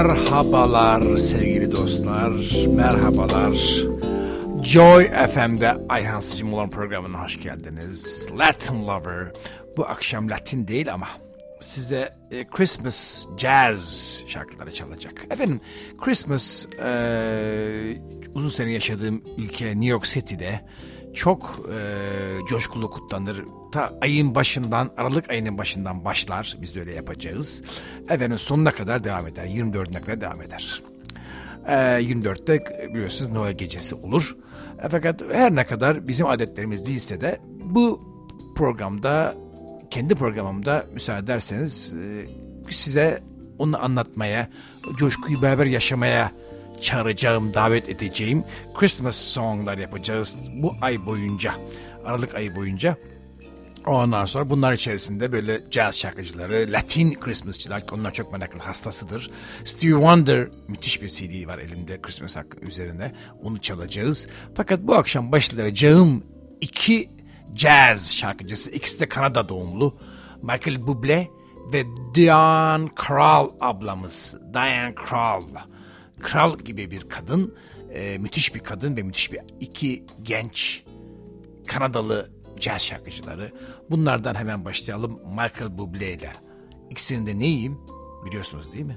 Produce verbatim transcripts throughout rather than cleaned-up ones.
Merhabalar sevgili dostlar, merhabalar. Joy F M'de Ayhan Sıcım olan programına hoş geldiniz. Latin Lover. Bu akşam Latin değil ama size e, Christmas Jazz şarkıları çalacak. Efendim, Christmas e, uzun sene yaşadığım ülke New York City'de çok e, coşkulu kutlanır. Ta ayın başından, Aralık ayının başından başlar. Biz de öyle yapacağız. Efendim sonuna kadar devam eder. yirmi dördüne kadar devam eder. E, yirmi dörtte biliyorsunuz Noel gecesi olur. E, fakat her ne kadar bizim adetlerimiz değilse de bu programda, kendi programımda müsaade ederseniz e, size onu anlatmaya, coşkuyu beraber yaşamaya çağıracağım, davet edeceğim Christmas songlar yapacağız bu ay boyunca, Aralık ayı boyunca. Ondan sonra bunlar içerisinde böyle jazz şarkıcıları, Latin Christmasçılar, onlar çok meraklı, hastasıdır. Stevie Wonder, müthiş bir C D var elimde Christmas üzerine, onu çalacağız. Fakat bu akşam başlayacağım iki jazz şarkıcısı, ikisi de Kanada doğumlu, Michael Bublé ve Diane Krall ablamız. Diane Krall. Kral gibi bir kadın, e, müthiş bir kadın ve müthiş bir iki genç Kanadalı jazz şarkıcıları. Bunlardan hemen başlayalım Michael Bublé ile. İkisinin de neyim biliyorsunuz değil mi?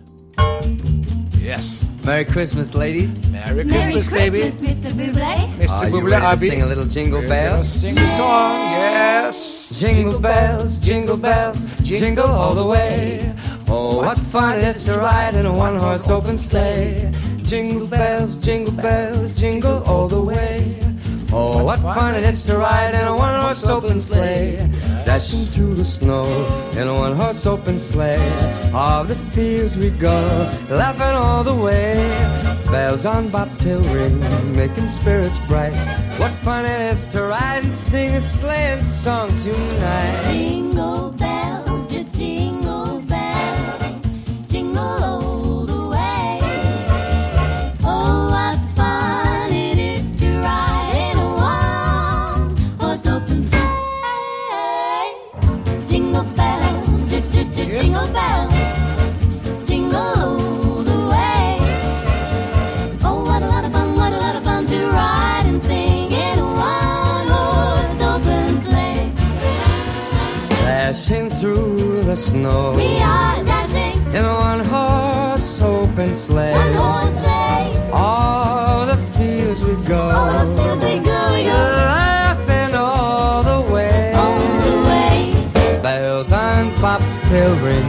Yes. Merry Christmas, ladies. Merry Christmas, Merry baby. Christmas, Mister Bublé. mister Are you Bublé ready to abi. sing a little jingle bells? Sing a song, yes. Jingle bells, jingle bells, jingle all the way. Oh, what fun it is to ride in a one-horse open sleigh. Jingle bells, jingle bells, jingle all the way. Oh, what fun it is to ride in a one-horse open sleigh. Dashing through the snow in a one-horse open sleigh. All the fields we go, laughing all the way. Bells on bobtail ring, making spirits bright. What fun it is to ride and sing a sleighing song tonight. Jingle bells, just jingle bells, jingle all the way. Oh, what fun it is to ride in a one-horse open sleigh. Jingle bells, just, just, just jingle bells, jingle all the way. Oh, what a lot of fun, what a lot of fun to ride and sing in a one-horse open sleigh. Dashing through the snow, We are dashing in a one-horse open sleigh. one horse sleigh. All the fields we go, All the fields we go, we go laughing all the way. all the way. Bells on bobtail ring,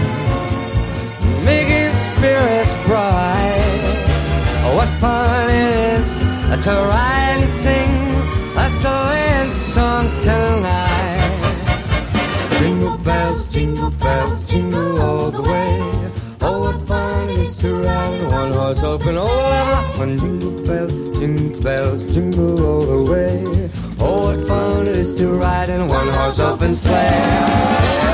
making spirits bright. Oh, what fun it is to ride and sing a sleighing song tonight. Jingle bells, jingle bells, jingle all the way. Oh, what fun it is to ride in one horse open. Oh, what fun! Jingle bells, jingle bells, jingle all the way. Oh, what fun it is to ride in one horse open sleigh.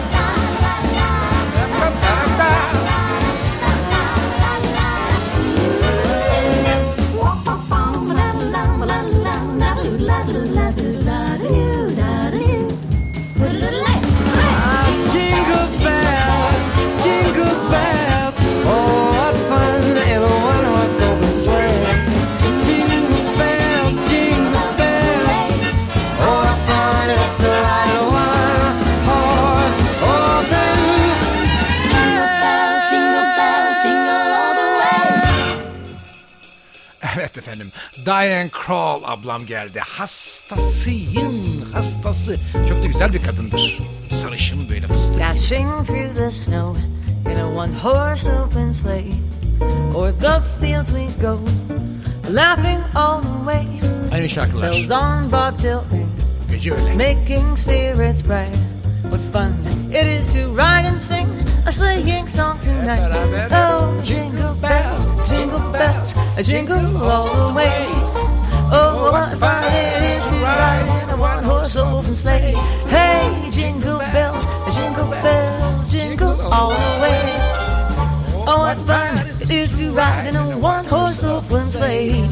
Jingle bells, jingle bells. Oh, what fun in a one-horse open sleigh. Jingle bells, jingle bells. Oh, what fun it is to ride in a one-horse open Jingle bells, jingle bells, jingle all the way. Evet efendim, Diane Krall ablam geldi. Hastasıyım, hastası. Çok da güzel bir kadındır. Sarışın böyle fıstık. Dashing through the snow in a one-horse open sleigh. O'er the fields we go, laughing all the way. Aynı şarkılar. Bells on bobtail ring, Gece öyle. making spirits bright. What fun it is to ride and sing a sleighing song tonight. beraber. Oh, jingle bells, jingle bells, a jingle all the way. Oh, what fun it is to ride in a one-horse open sleigh. Hey, jingle bells, jingle bells, jingle all the way. Oh, what fun it is to ride in a one-horse open sleigh.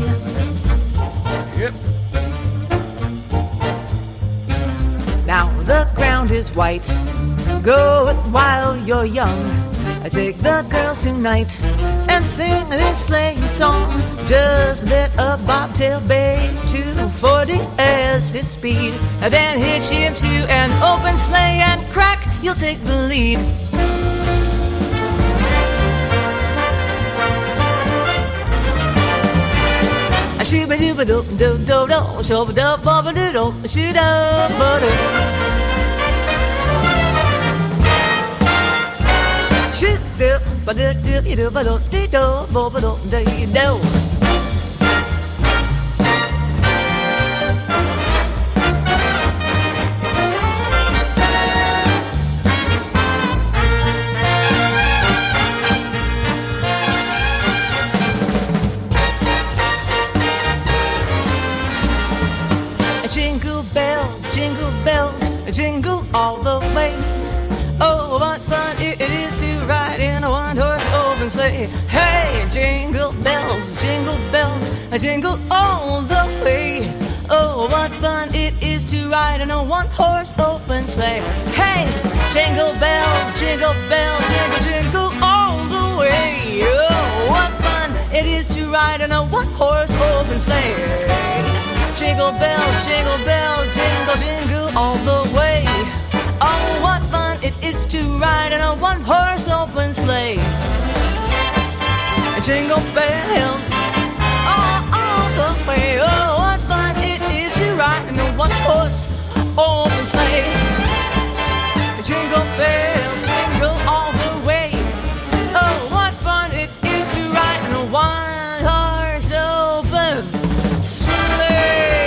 Yep. Now the ground is is white. Go it while you're young. I take the girls tonight and sing this sleigh song. Just let a bobtail bay two forty as his speed. And then hitch him to an open sleigh and crack, you'll take the lead. I shoot a doo ba doo doo doo doo, show a doo ba ba doo doo, shoot a ba doo. Shoot doo ba doo doo doo ba doo doo doo ba ba doo doo doo. Jingle bells, jingle bells, jingle all the way. Oh, what fun it is to ride in a one-horse open sleigh. Hey, jingle bells, jingle bells, jingle all the way. Oh, what fun it is to ride in a one-horse open sleigh. Hey, jingle bells, jingle bells, jingle, jingle all the way. Oh, what fun it is to ride in a one-horse open sleigh. Jingle bells, jingle bells, jingle, jingle all the way. Oh, what fun it is to ride in a one-horse open sleigh. Jingle bells, all, all the way. Oh, what fun it is to ride in a one-horse open sleigh. Jingle bells, jingle all the way. Oh, what fun it is to ride in a one-horse open sleigh.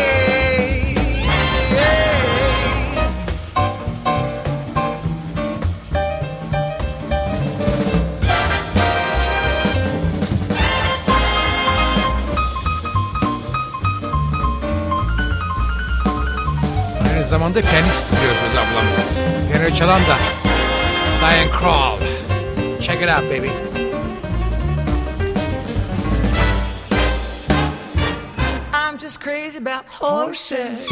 Aynı zamanda piyanist biliyorsunuz ablamız. Piyano çalan da Diane Krall. Check it out baby. I'm just crazy about horses.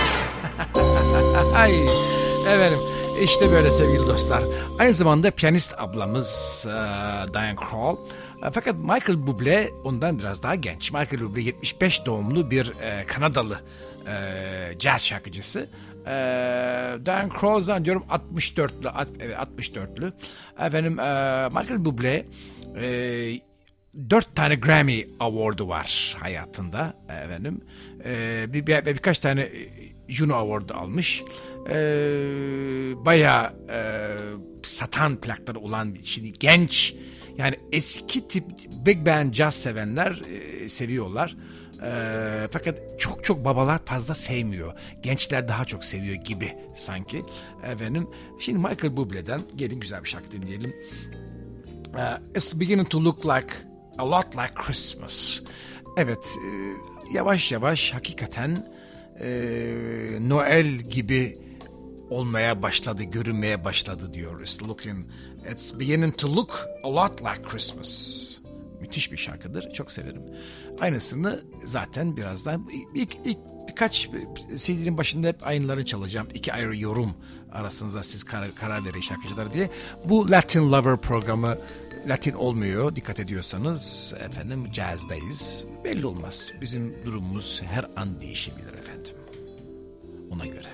Ay efendim işte böyle sevgili dostlar. Aynı zamanda piyanist ablamız e, Diane Krall. E, fakat Michael Bublé ondan biraz daha genç. Michael Bublé yetmiş beş doğumlu bir e, Kanadalı e, caz şarkıcısı. E, Diane Krall zannediyorum altmış dörtlü. At, evet altmış dörtlü. Efendim e, Michael Bublé e, dört tane Grammy Award'u var hayatında efendim. E, bir, bir, birkaç tane Juno Award'u almış. E, bayağı e, satan plakları olan şimdi genç yani eski tip big band jazz sevenler e, seviyorlar. E, fakat çok çok babalar fazla sevmiyor. Gençler daha çok seviyor gibi sanki. Efendim şimdi Michael Bublé'den gelin güzel bir şarkı dinleyelim. Uh, it's beginning to look like a lot like Christmas. Evet, e, yavaş yavaş hakikaten e, Noel gibi olmaya başladı, görünmeye başladı diyor. It's looking, it's beginning to look a lot like Christmas. Müthiş bir şarkıdır, çok severim. Aynısını zaten birazdan ilk, ilk birkaç C D'nin başında hep aynılarını çalacağım. İki ayrı yorum arasınızda siz karar, karar verin şarkıcılar diye. Bu Latin Lover programı Latin olmuyor dikkat ediyorsanız efendim caz'dayız. Belli olmaz. Bizim durumumuz her an değişebilir efendim. Ona göre.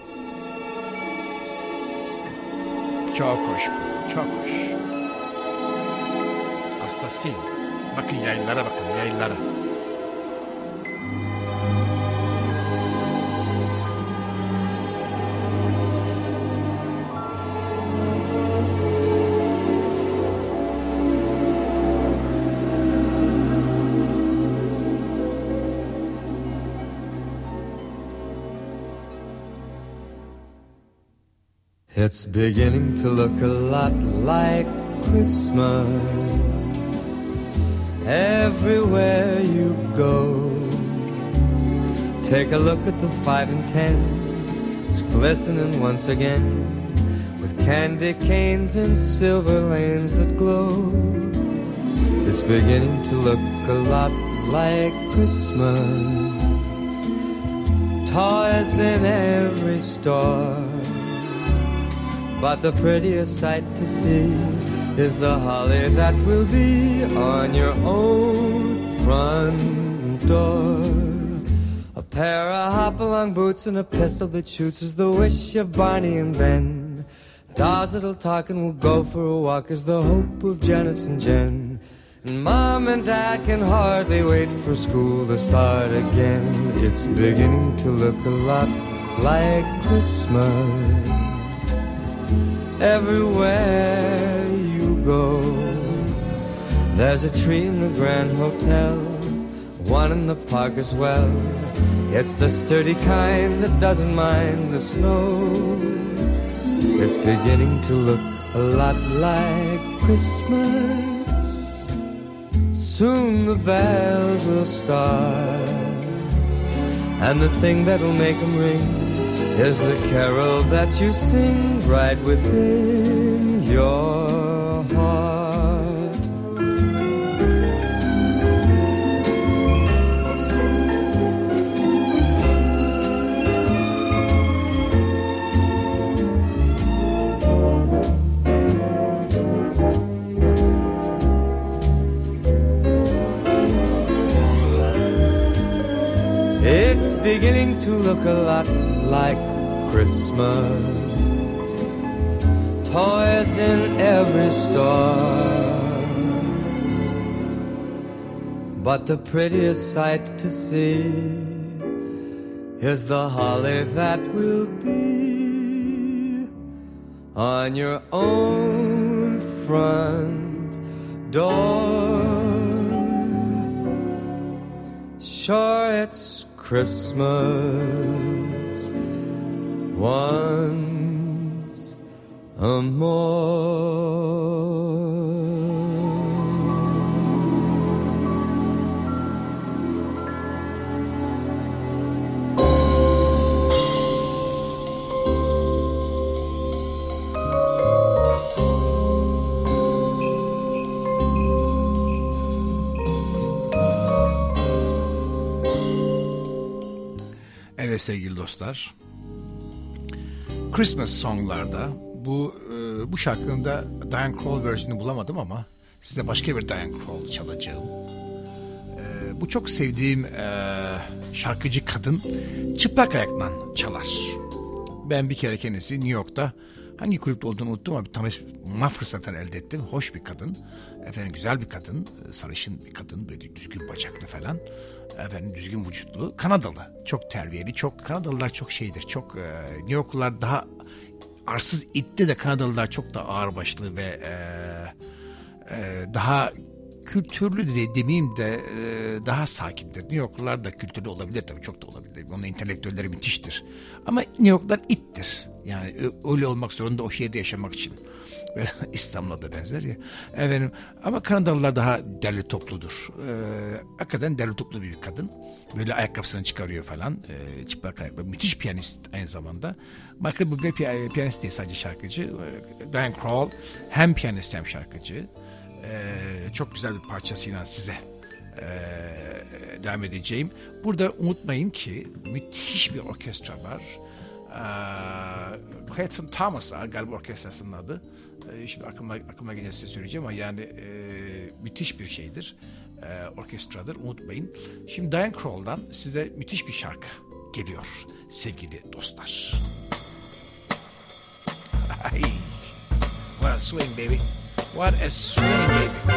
Çok hoş bu. Çok hoş. Hastasıyım. Bakın yayınlara bakın yayınlara. It's beginning to look a lot like Christmas everywhere you go. Take a look at the five and ten. It's glistening once again with candy canes and silver lanes that glow. It's beginning to look a lot like Christmas. Toys in every store. But the prettiest sight to see is the holly that will be on your own front door. A pair of hop-along boots and a pistol that shoots is the wish of Barney and Ben. Dolls that'll talk and we'll go for a walk is the hope of Janice and Jen. And Mom and Dad can hardly wait for school to start again. It's beginning to look a lot like Christmas everywhere you go. There's a tree in the Grand Hotel, one in the park as well. It's the sturdy kind that doesn't mind the snow. It's beginning to look a lot like Christmas. Soon the bells will start, and the thing that'll make them ring is the carol that you sing right within your heart. It's beginning to look a lot like Christmas. Toys in every store, but the prettiest sight to see is the holly that will be on your own front door. Sure, it's Christmas once a more. Evet sevgili dostlar, Christmas songlarda bu e, bu şarkının da Diane Krall versiyonu bulamadım ama size başka bir Diane Krall çalacağım. E, bu çok sevdiğim e, şarkıcı kadın çıplak ayakla çalar. Ben bir kere kendisi New York'ta hangi kulüpte olduğunu unuttum ama bir tanışma fırsatını elde ettim. Hoş bir kadın, efendim güzel bir kadın, sarışın bir kadın, böyle düzgün bacaklı falan. Efendim düzgün vücutlu, Kanadalı, çok terbiyeli, çok Kanadalılar çok şeydir, çok e, New Yorklular daha arsız itti de Kanadalılar çok da ağırbaşlı ve e, e, daha kültürlü de demeyeyim de e, daha sakindir. New Yorklular da kültürlü olabilir tabii, çok da olabilir. Onun entelektüelleri müthiştir. Ama New Yorklular ittir. Yani öyle olmak zorunda o şehirde yaşamak için. İstanbul'a da benzer ya. Efendim, ama Kanadalılar daha derli topludur. Ee, hakikaten derli toplu bir kadın. Böyle ayakkabısını çıkarıyor falan. Ee, çıplak ayakla. Müthiş piyanist aynı zamanda. Michael Bublé pi- piyanist değil, sadece şarkıcı. Ee, Diane Krall hem piyanist hem şarkıcı. Ee, çok güzel bir parçasıyla size ee, devam edeceğim. Burada unutmayın ki müthiş bir orkestra var. Ee, Clayton Thomas'a galiba orkestrasının adı. Ee, şimdi aklıma, aklıma gelince size söyleyeceğim ama yani e, müthiş bir şeydir. E, orkestradır, unutmayın. Şimdi Diane Krall'dan size müthiş bir şarkı geliyor sevgili dostlar. What a swing baby. What a swing baby.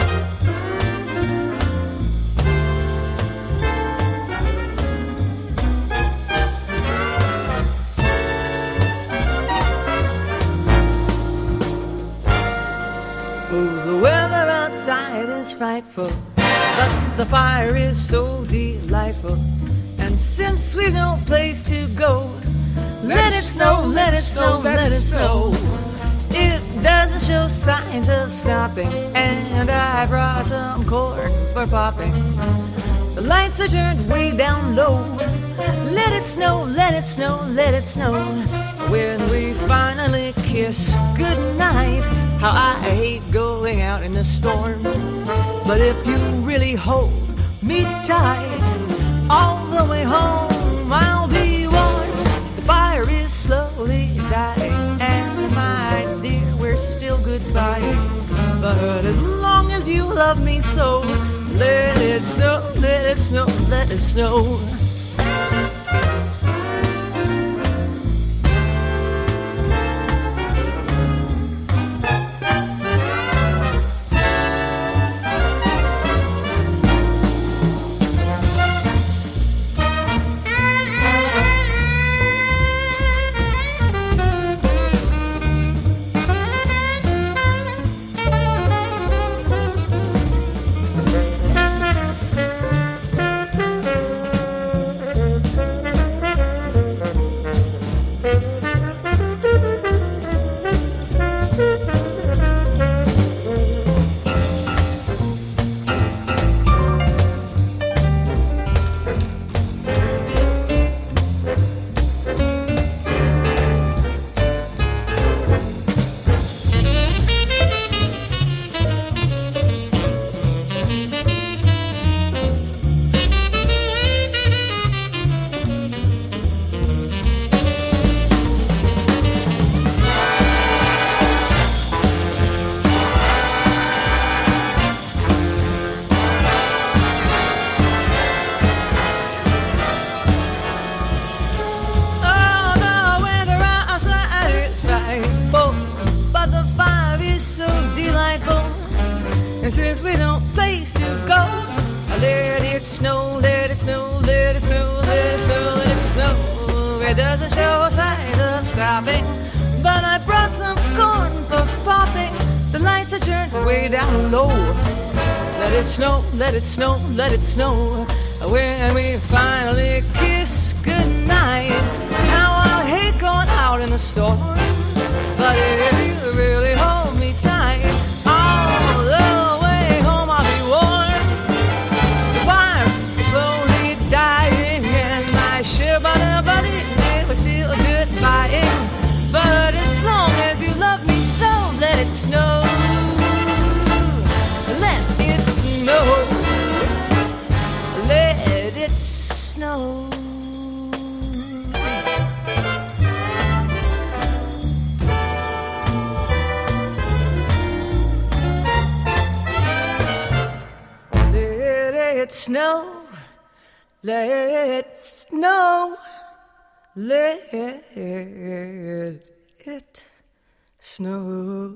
The weather outside is frightful, but the fire is so delightful. And since we've no place to go, let, let it snow, let it snow, let it snow. It doesn't show signs of stopping, and I brought some corn for popping. The lights are turned way down low. Let it snow, let it snow, let it snow. When we finally kiss goodnight, how I hate going out in the storm. But if you really hold me tight, all the way home I'll be warm. The fire is slowly dying and my love me so. Let it snow, let it snow, let it snow. Let it snow, let it snow. When we finally kiss goodnight. Now I hate going out in the storm, but if you really hold me tight, all the way home I'll be warm. The fire is slowly dying, and my shiver buddy it was still goodbying. But as long as you love me so, let it snow. Let it snow. Let it snow. Let it snow. Let it snow. Let it snow.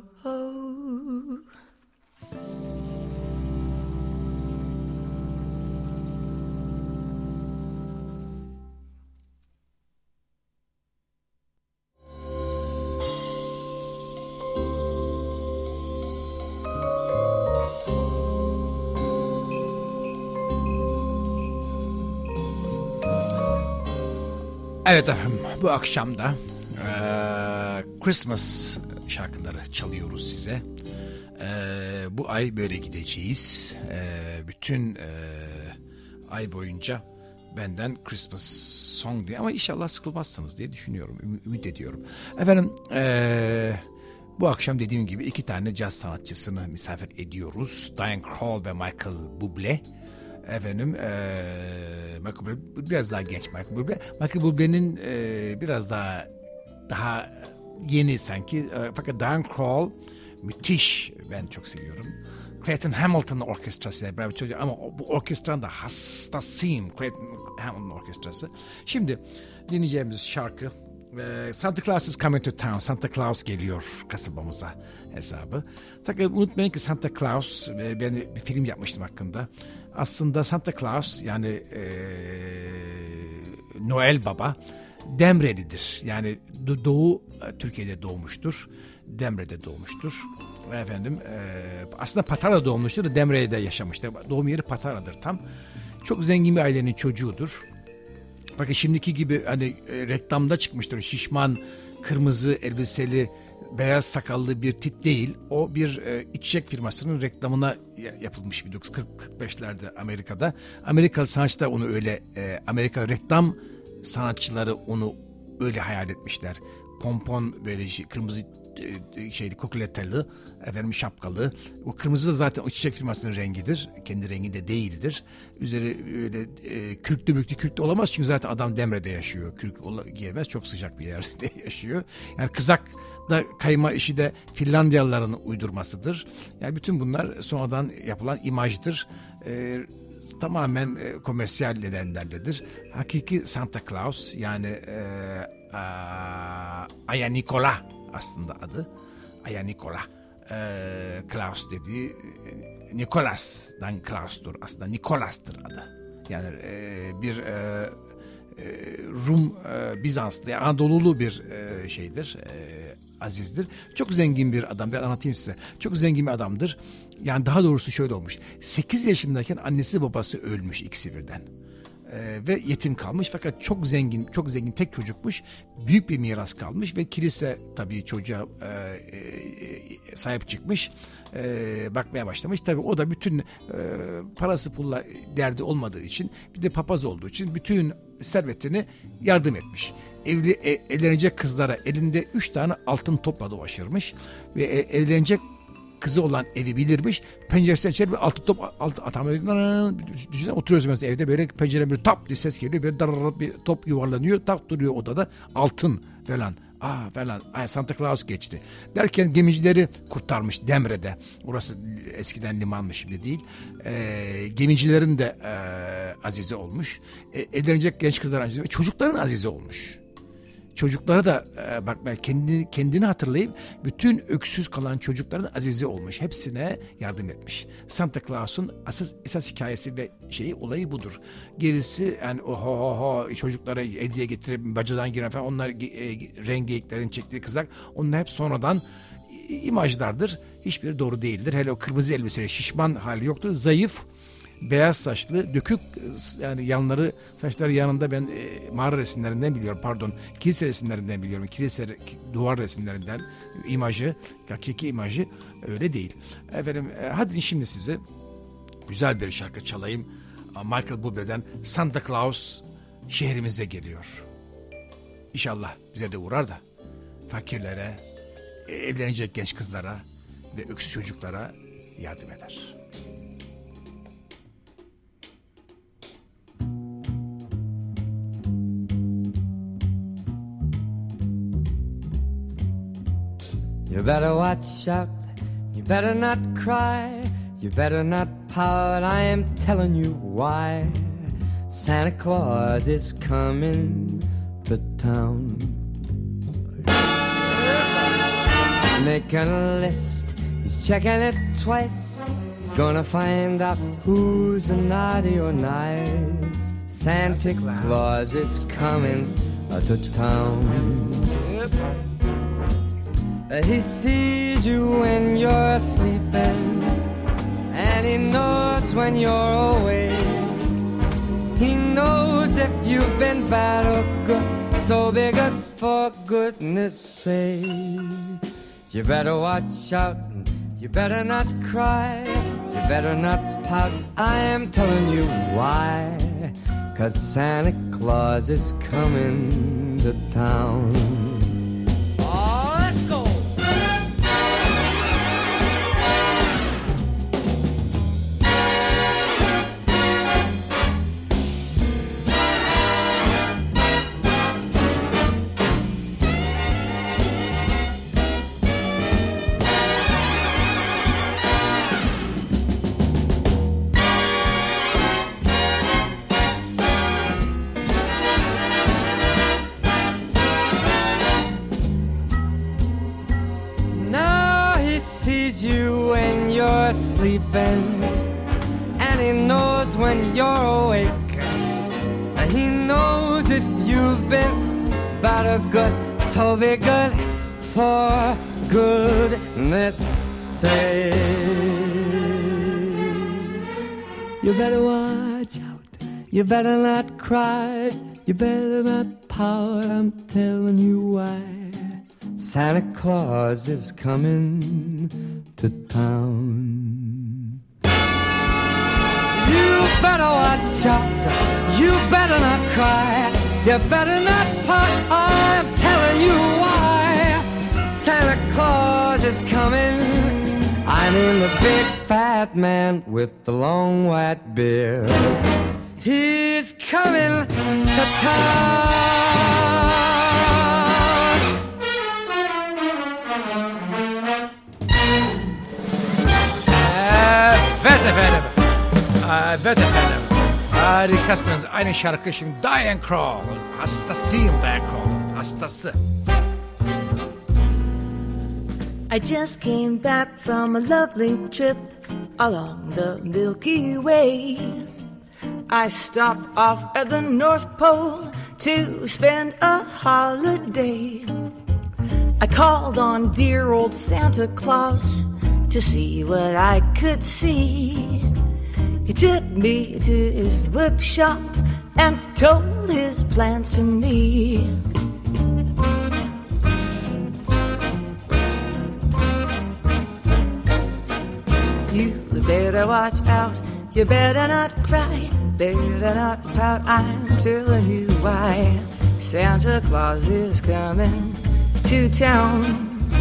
Evet efendim, bu akşam da e, Christmas şarkıları çalıyoruz size. E, bu ay böyle gideceğiz. E, bütün e, ay boyunca benden Christmas song diye, ama inşallah sıkılmazsınız diye düşünüyorum, üm- ümit ediyorum. Efendim e, bu akşam dediğim gibi iki tane caz sanatçısını misafir ediyoruz. Diane Krall ve Michael Bublé. Efendim ee, Michael Bublé biraz daha genç Michael Bublé. Michael Bublé'nin e, biraz daha daha yeni sanki. E, fakat Diane Krall müthiş. Ben çok seviyorum. Clayton Hamilton orkestrasıyla beraber çalışıyor. Ama bu orkestranın da hastasıyım. Clayton Hamilton orkestrası. Şimdi dinleyeceğimiz şarkı e, Santa Claus is coming to town. Santa Claus geliyor kasabamıza hesabı. Fakat unutmayın ki Santa Claus, e, ben bir film yapmıştım hakkında. Aslında Santa Claus yani e, Noel Baba Demreli'dir. Yani Doğu Türkiye'de doğmuştur. Demre'de doğmuştur. Efendim e, aslında Patara'da doğmuştur da Demre'de yaşamıştır. Doğum yeri Patara'dır tam. Çok zengin bir ailenin çocuğudur. Bakın şimdiki gibi hani e, reklamda çıkmıştır. Şişman, kırmızı elbiseli, beyaz sakallı bir tip değil. O bir e, içecek firmasının reklamına yapılmış bir kırk kırk beşlerde Amerika'da. Amerikalı sanatçılar onu öyle, e, Amerika reklam sanatçıları onu öyle hayal etmişler. Pompon böyle şey, kırmızı e, şeyli kokuleteli, efendim şapkalı. O kırmızı da zaten o çiçek firmasının rengidir. Kendi rengi de değildir. Üzeri öyle e, kürklü müklü kürklü olamaz çünkü zaten adam Demre'de yaşıyor. Kürk giyemez, çok sıcak bir yerde yaşıyor. Yani kızak Hatta kayma işi de Finlandiyalıların uydurmasıdır. Yani bütün bunlar sonradan yapılan imajdır. E, tamamen e, komersiyal nedenlerledir. Hakiki Santa Claus yani e, a, Aya Nikola aslında adı. Aya Nikola. E, Klaus dediği Nikolas'dan Klaus'tur. Aslında Nikolas'tır adı. Yani e, bir e, Rum, e, Bizanslı, yani Anadolulu bir e, şeydir, e, azizdir. Çok zengin bir adam, ben anlatayım size. Çok zengin bir adamdır. Yani daha doğrusu şöyle olmuş. sekiz yaşındayken annesi babası ölmüş ikisi birden. E, ve yetim kalmış fakat çok zengin, çok zengin tek çocukmuş. Büyük bir miras kalmış ve kilise tabii çocuğa e, e, sahip çıkmış. E, bakmaya başlamış. Tabii o da bütün e, parası pulla derdi olmadığı için, bir de papaz olduğu için bütün servetini yardım etmiş. Evli e, evlenecek kızlara elinde üç tane altın topla dolaşırmış ve e, evlenecek kızı olan evi bilirmiş. Penceresine açar ve altın top altın atamıyor. Düşünsene, oturuyoruz mesela evde, böyle pencereden bir tap diye ses geliyor. Böyle dar bir top yuvarlanıyor. Tak duruyor odada, altın falan. Aa falan. Ay, Santa Claus geçti. Derken gemicileri kurtarmış Demre'de. Orası eskiden limanmış, şimdi değil. E, gemicilerin de e, azizi olmuş. E, evlenecek genç kızlar azizi ve çocukların azizi olmuş. Çocuklara da e, bak ben kendini, kendini hatırlayıp bütün öksüz kalan çocukların azizi olmuş. Hepsine yardım etmiş. Santa Claus'un asas, esas hikayesi ve şeyi, olayı budur. Gerisi yani o ho ho ho çocuklara hediye getirip bacadan giren falan, onlar e, rengeyiklerin çektiği kızak, onlar hep sonradan imajlardır. Hiçbiri doğru değildir. Hele o kırmızı elbiseli şişman hali yoktur. Zayıf, beyaz saçlı, dökük, yani yanları, saçları yanında, ben e, mağara resimlerinden biliyorum, pardon, kilise resimlerinden biliyorum. Kilise duvar resimlerinden imajı, hakiki imajı öyle değil. Efendim, e, hadi şimdi size güzel bir şarkı çalayım. Michael Bublé'den Santa Claus şehrimize geliyor. İnşallah bize de uğrar da fakirlere, e, evlenecek genç kızlara ve öksüz çocuklara yardım eder. You better watch out, you better not cry, you better not pout, I am telling you why. Santa Claus is coming to town. He's making a list, he's checking it twice, he's gonna find out who's naughty or nice. Santa Claus is coming to town. He sees you when you're sleeping, and he knows when you're awake. He knows if you've been bad or good, so be good for goodness sake. You better watch out, you better not cry, you better not pout, I am telling you why. 'Cause Santa Claus is coming to town. You when you're sleeping, and he knows when you're awake. And he knows if you've been bad or good, so be good for goodness sake. You better watch out, you better not cry, you better not pout, I'm telling you why. Santa Claus is coming to town. You better watch out, you better not cry, you better not pout, I'm telling you why. Santa Claus is coming, I mean the big fat man with the long white beard. He's coming to town. Evet efendim. Harikasınız. Aynı şarkı şimdi Diane Krall. Hastasıyım Diane Krall. Hastası. I just came back from a lovely trip along the Milky Way. I stopped off at the North Pole to spend a holiday. I called on dear old Santa Claus to see what I could see. He took me to his workshop and told his plans to me. You better watch out, you better not cry, better not pout, I'm telling you why. Santa Claus is coming to town.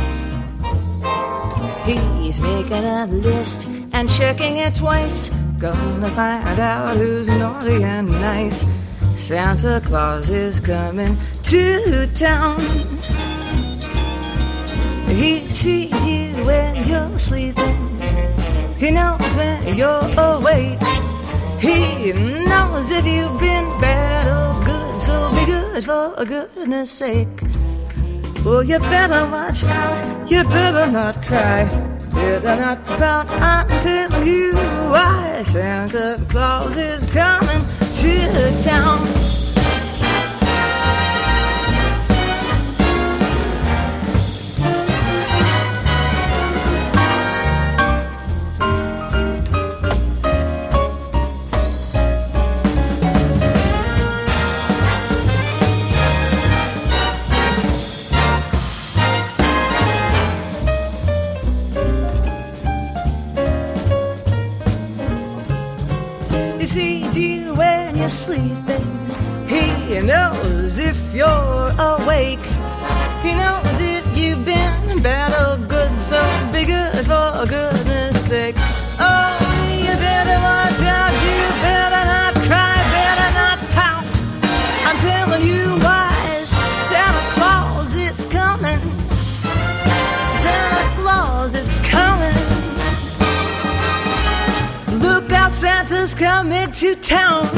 He's making a list and checking it twice, gonna find out who's naughty and nice. Santa Claus is coming to town. He sees you when you're sleeping. He knows when you're awake. He knows if you've been bad or good, so be good for goodness sake. Oh, you better watch out, you better not cry, better not pout, I'm telling you why. Santa Claus is coming to town. Sleeping. He knows if you're awake. He knows if you've been bad or good, so be good for goodness sake. Oh, you better watch out, you better not cry, better not pout. I'm telling you why. Santa Claus is coming. Santa Claus is coming. Look out, Santa's coming to town.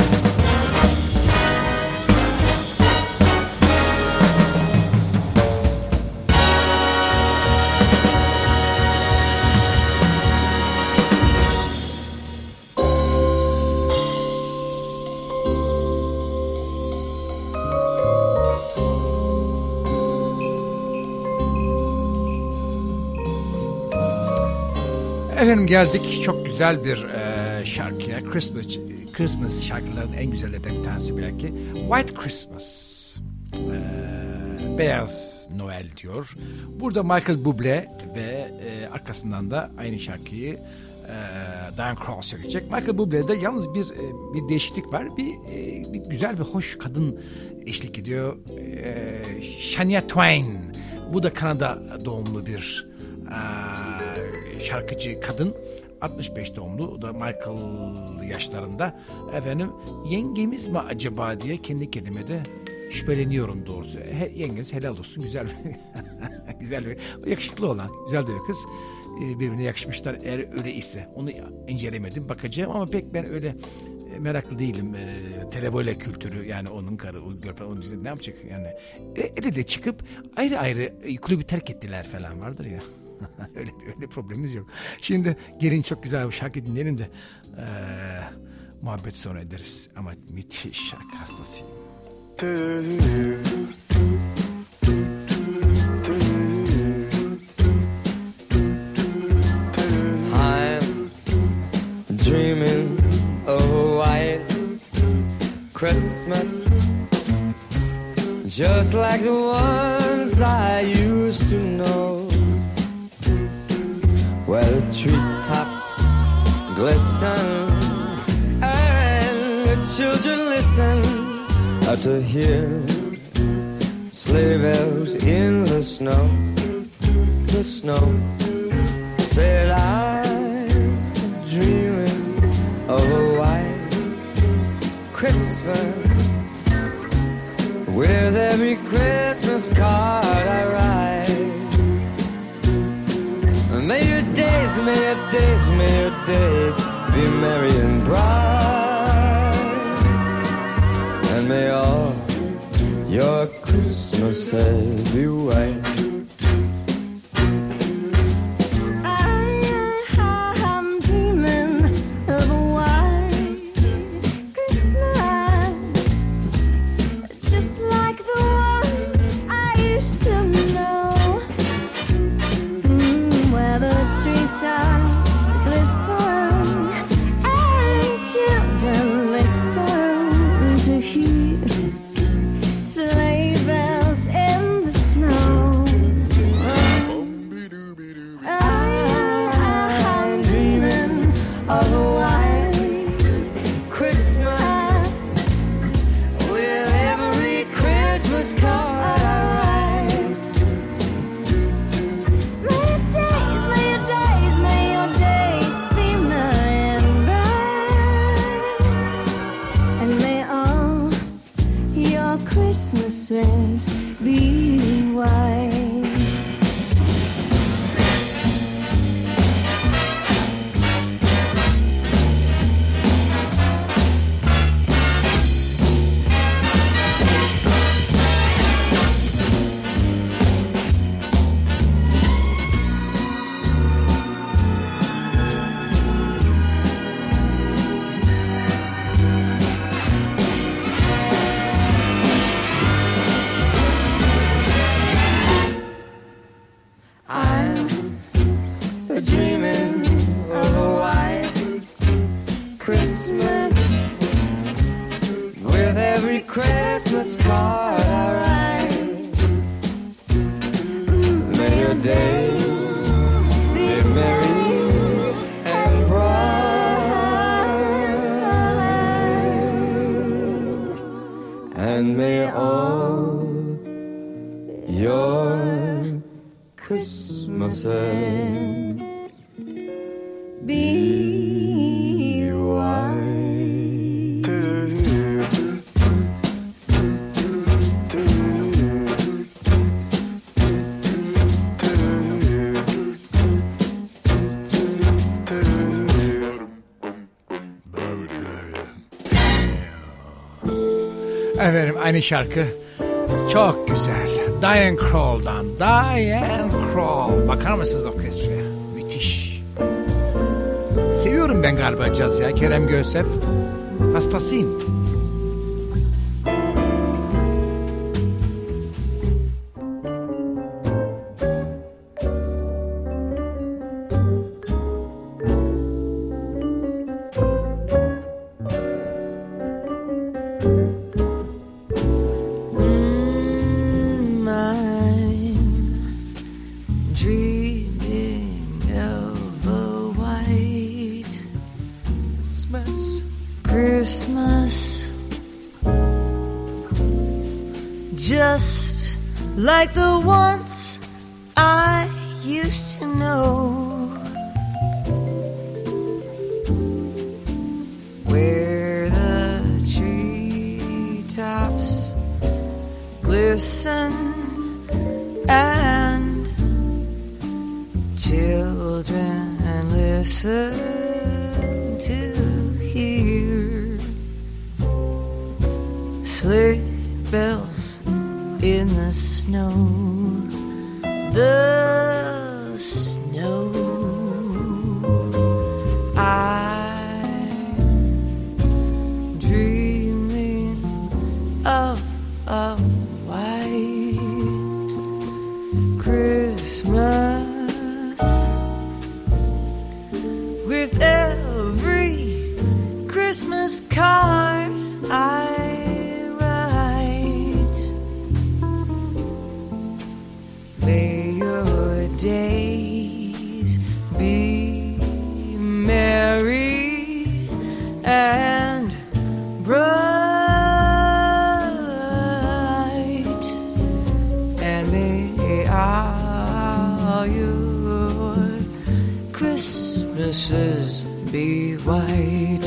Efendim geldik çok güzel bir e, şarkıya. Christmas, Christmas şarkıların en güzellerinden bir tanesi belki. White Christmas. E, Beyaz Noel diyor. Burada Michael Bublé ve e, arkasından da aynı şarkıyı e, Diane Krall söyleyecek. Michael Bublé'de yalnız bir e, bir değişiklik var. Bir, e, bir güzel bir hoş kadın eşlik ediyor. E, Shania Twain. Bu da Kanada doğumlu bir e, şarkıcı kadın. altmış beş doğumlu. O da Michael yaşlarında. Efendim yengemiz mi acaba diye kendi kendime de şüpheleniyorum doğrusu. He, yengeniz helal olsun. Güzel bir güzel bir yakışıklı olan güzel de bir kız. Birbirine yakışmışlar eğer öyle ise. Onu incelemedim, bakacağım ama pek ben öyle meraklı değilim. E, televole kültürü yani onun karı, o görfen, onun ne yapacak yani. E, el ele çıkıp ayrı ayrı kulübü terk ettiler falan vardır ya. öyle öyle problemimiz yok. Şimdi gelin çok güzel bir şarkı dinleyelim de e, muhabbet sonra ederiz. Ama müthiş şarkı hastasıyım. I'm dreaming of a white Christmas, just like the ones I used to know, where the treetops glisten and the children listen to hear sleigh bells in the snow. The snow said I'm dreaming of a white Christmas, with every Christmas card I write. May your days, may your days, may your days be merry and bright, and may all your Christmases be white. Efendim aynı şarkı çok güzel. Diane Krall'dan. Diane Krall. Bakar mısınız orkestraya? Müthiş. Seviyorum ben galiba caz ya. Kerem Göğsef. Hastasıyım. Like the ones I used to know, where the treetops glisten and children listen to hear sleigh bells in the snow, the snow. I'm dreaming of a white Christmas, with every Christmas card I may your days be merry and bright, and may all your Christmases be white.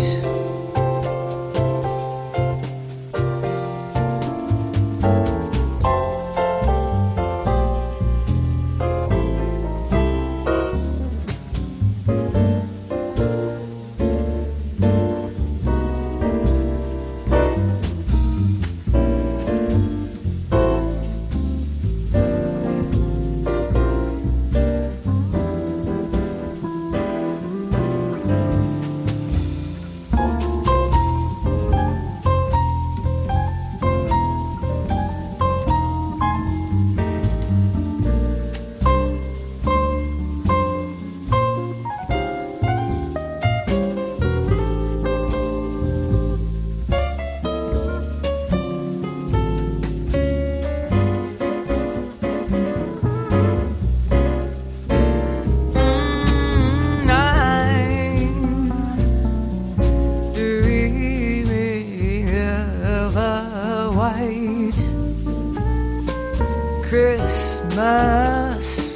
Christmas.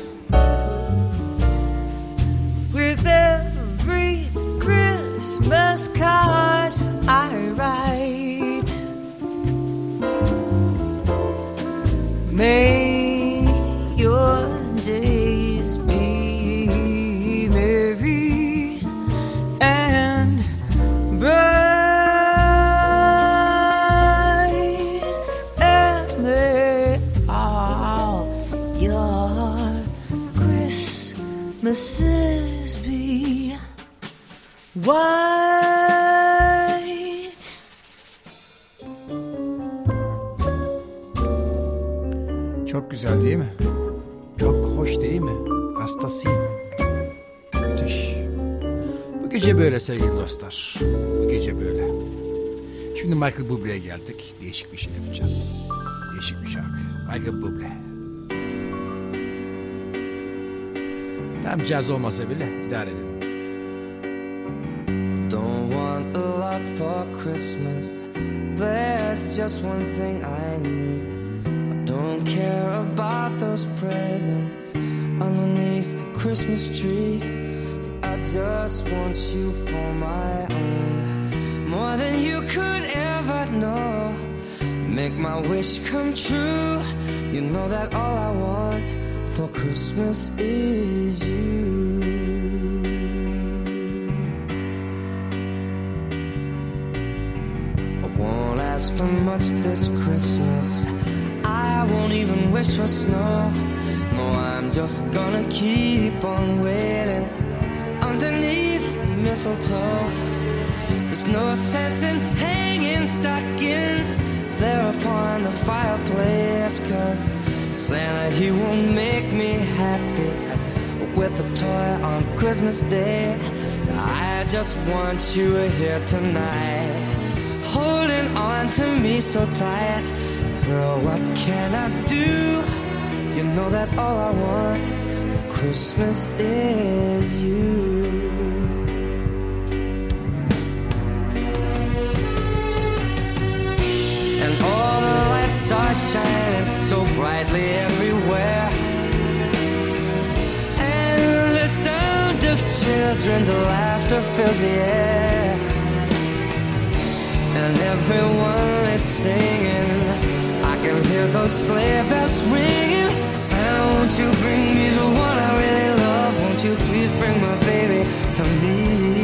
With every Christmas card I write, may your days be merry and bright, and may all your Christmases be white. Çok güzel değil mi? Çok hoş değil mi? Hastasıyım. Müthiş. Bu gece böyle sevgili dostlar. Bu gece böyle. Şimdi Michael Bublé'ye geldik. Değişik bir şey yapacağız. Değişik bir şarkı. Michael Bublé. Tam caz olmasa bile idare edin. Don't want a lot for Christmas. There's just one thing I need. Don't care about those presents underneath the Christmas tree. See, I just want you for my own, more than you could ever know. Make my wish come true. You know that all I want for Christmas is you. I won't ask for much this Christmas. I won't even wish for snow. No, I'm just gonna keep on waiting underneath the mistletoe. There's no sense in hanging stockings there upon the fireplace, 'cause Santa, he won't make me happy with a toy on Christmas Day. I just want you here tonight, holding on to me so tight. Girl, what can I do? You know that all I want for Christmas is you. And all the lights are shining so brightly everywhere, and the sound of children's laughter fills the air, and everyone is singing. I can hear those sleigh bells ringing. Santa, won't you bring me the one I really love? Won't you please bring my baby to me?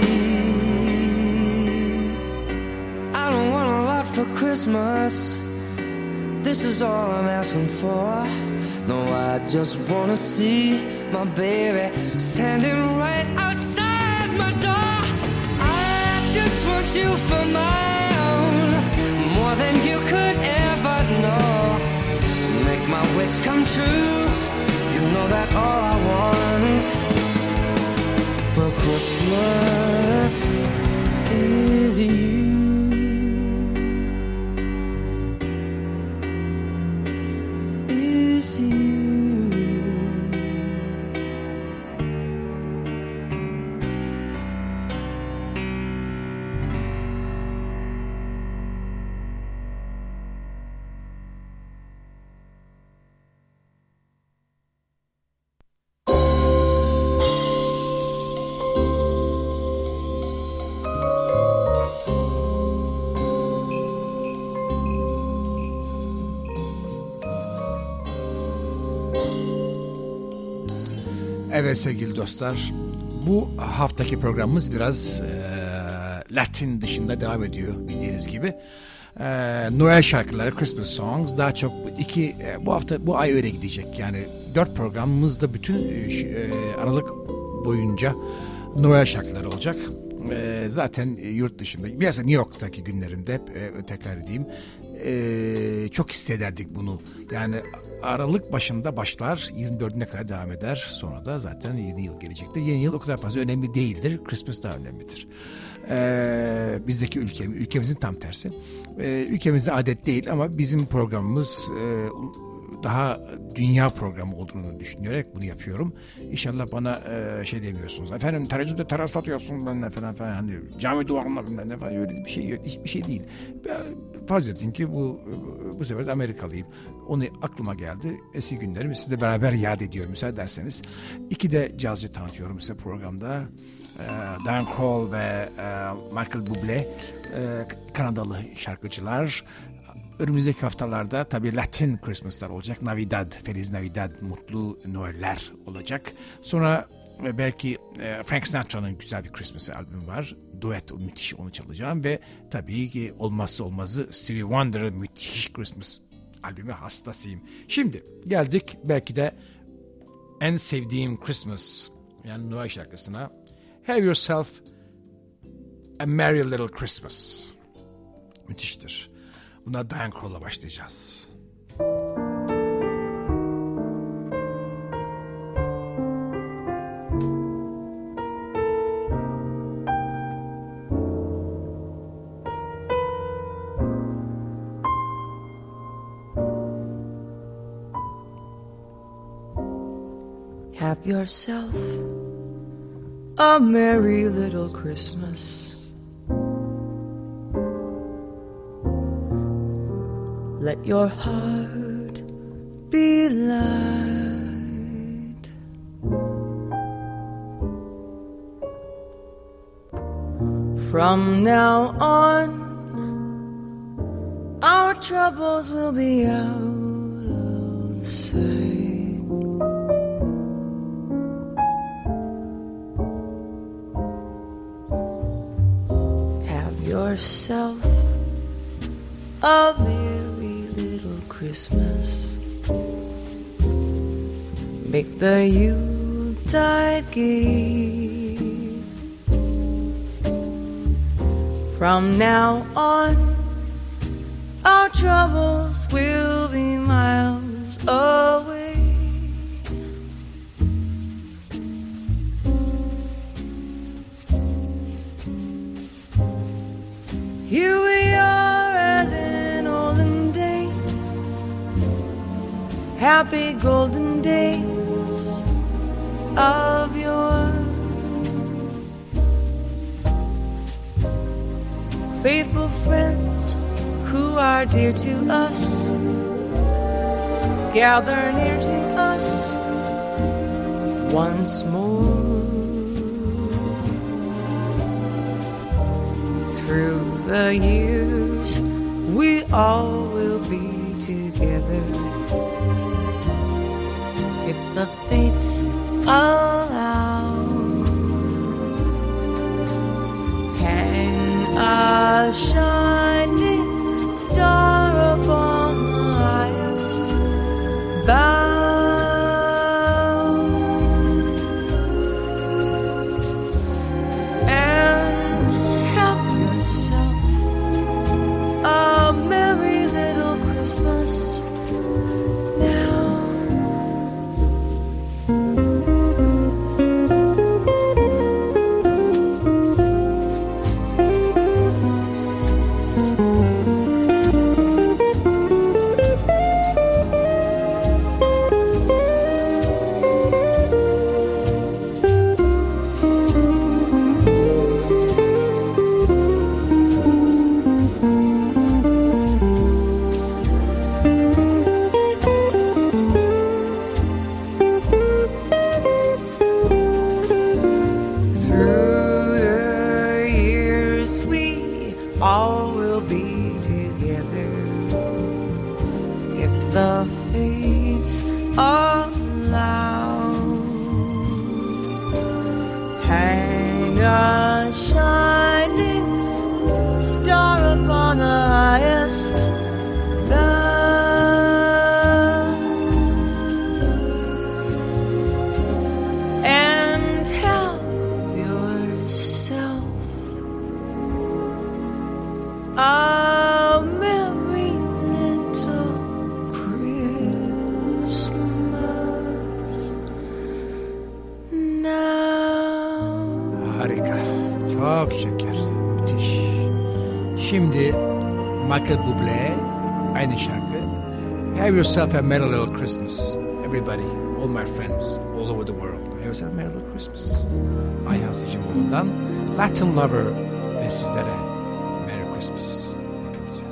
I don't want a lot for Christmas. This is all I'm asking for. No, I just wanna see my baby standing right outside my door. I just want you for my own, more than you could ever know. Make my wish come true. You know that all I want for Christmas is you. Is you. Evet sevgili dostlar, bu haftaki programımız biraz e, Latin dışında devam ediyor bildiğiniz gibi. E, Noel şarkıları, Christmas songs daha çok iki e, bu hafta bu ay öyle gidecek. Yani dört programımızda bütün e, Aralık boyunca Noel şarkıları olacak. E, zaten yurt dışında, biraz New York'taki günlerimde e, tekrar edeyim. E, çok hissederdik bunu. Yani Aralık başında başlar, yirmi dördüne kadar devam eder. Sonra da zaten yeni yıl gelecektir. Yeni yıl o kadar fazla önemli değildir. Christmas daha önemlidir. Ee, bizdeki ülke, ülkemizin tam tersi. Ee, ülkemizde adet değil ama bizim programımız e, daha dünya programı olduğunu düşünerek bunu yapıyorum. İnşallah bana e, şey demiyorsunuz. Efendim tereccüde teras atıyorsun ben ne falan falan. Hani cami duvarına bilmem ne falan, öyle bir şey yok. Hiçbir şey değil. Farz edin ki bu bu sefer de Amerikalıyım. Onu aklıma geldi. Eski günlerimi sizle beraber yad ediyorum müsaade ederseniz. İki de cazcı tanıtıyorum size programda. E, Dan Kroll ve e, Michael Bublé, e, Kanadalı şarkıcılar. Önümüzdeki haftalarda tabii Latin Christmas'lar olacak. Navidad, Feliz Navidad, Mutlu Noeller olacak. Sonra belki Frank Sinatra'nın güzel bir Christmas albümü var. Duet, o müthiş, onu çalacağım. Ve tabii ki olmazsa olmazı Stevie Wonder'ın müthiş Christmas albümü hastasıyım. Şimdi geldik belki de en sevdiğim Christmas, yani Noel şarkısına. Have Yourself a Merry Little Christmas. Müthiştir. Buna Diane Kroll'la başlayacağız. Have yourself a merry little Christmas. Let your heart be light. From now on, our troubles will be out of sight. Have yourself a merry little Christmas. Make the Yuletide gay. From now on, our troubles will be miles away. Here we are as in olden days, happy golden days of yore. Faithful friends who are dear to us, gather near to us once more. Through the years we all will be together, if the fates allow. Hang a shining star upon the highest bough, and have yourself a merry little Christmas now. Şimdi Michael Bublé aynı şarkı Have yourself a merry little Christmas. Everybody, all my friends, all over the world. Have yourself a merry little Christmas. Ayhan Sicimoğlu'ndan Latin Lover ve sizlere Merry Christmas. Hepinize.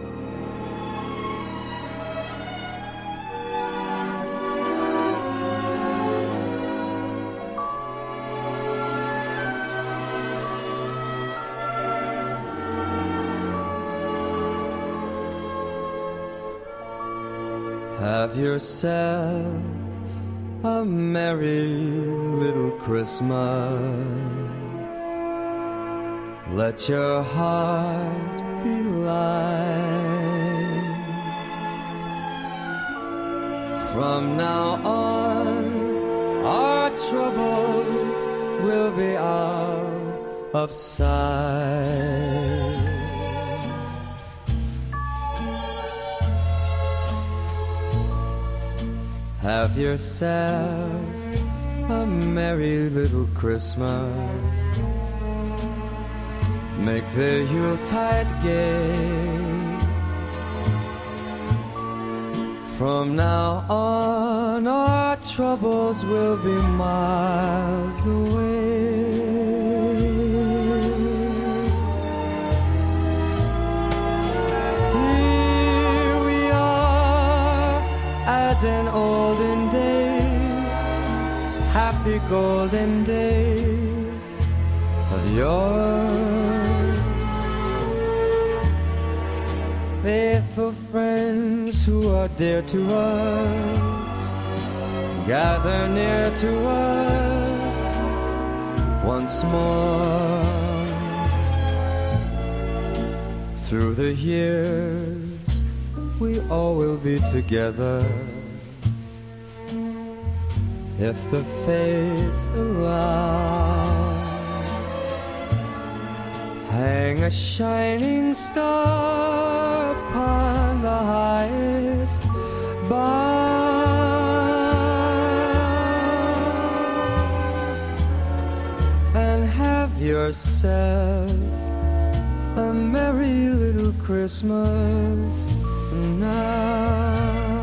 Have yourself a merry little Christmas. Let your heart be light. From now on, our troubles will be out of sight. Have yourself a merry little Christmas. Make the Yuletide gay. From now on, our troubles will be miles away. Here we are, as in olden days, happy golden days of yore. Faithful friends who are dear to us, gather near to us once more. Through the years, we all will be together, if the fates allow. Hang a shining star upon the highest bough, and have yourself a merry little Christmas now.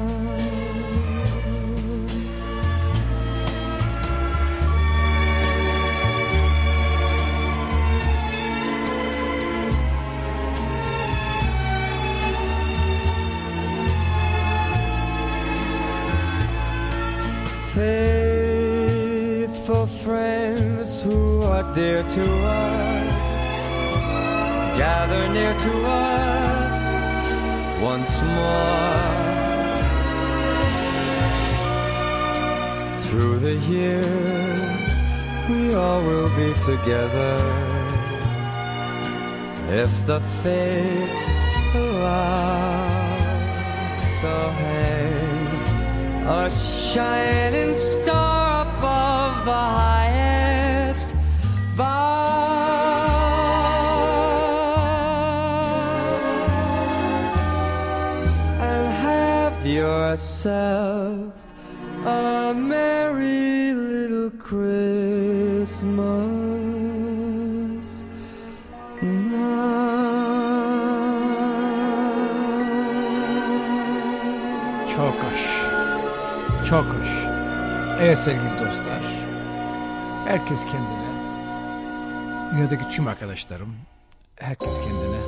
Faithful friends who are dear to us, gather near to us once more. Through the years, we all will be together, if the fates allow. So hang a shining star above the highest bough, and have yourself a merry little Christmas now. Çok hoş. Çok hoş. Evet sevgili dostlar. Herkes kendine, dünyadaki tüm arkadaşlarım, herkes kendine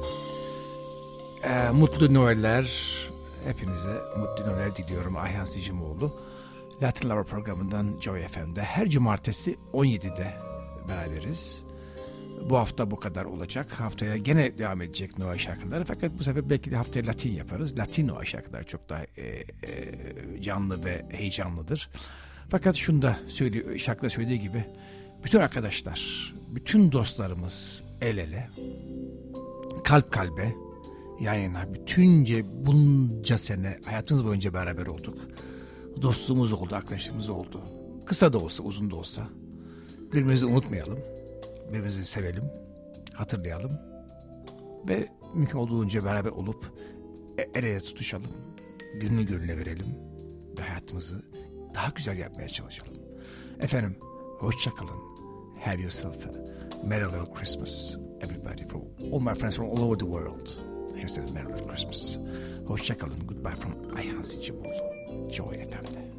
e, mutlu Noeller, hepinize mutlu Noeller diliyorum. Ayhan Sicimoğlu, Latin Lover programından Joy F M'de her cumartesi on yedide beraberiz. Bu hafta bu kadar olacak. Haftaya gene devam edecek Noel şarkıları. Fakat bu sefer belki de haftaya Latin yaparız. Latin Noel şarkıları çok daha e, e, canlı ve heyecanlıdır. Fakat şunu da söylüyor, şarkıda söylediği gibi bütün arkadaşlar, bütün dostlarımız el ele, kalp kalbe, yan yana, bütünce bunca sene hayatımız boyunca beraber olduk. Dostluğumuz oldu, arkadaşlığımız oldu. Kısa da olsa, uzun da olsa. Birbirimizi unutmayalım. Birbirimizi sevelim, hatırlayalım ve mümkün olduğunca beraber olup el ele tutuşalım, gönlü gönüle verelim ve hayatımızı daha güzel yapmaya çalışalım. Efendim, hoşça kalın. Have yourself a merry little Christmas, everybody, from all my friends from all over the world. Hepsi Merry Christmas. Hoşçakalın. Goodbye from Ayhan Sicimoğlu. Joy F M'de.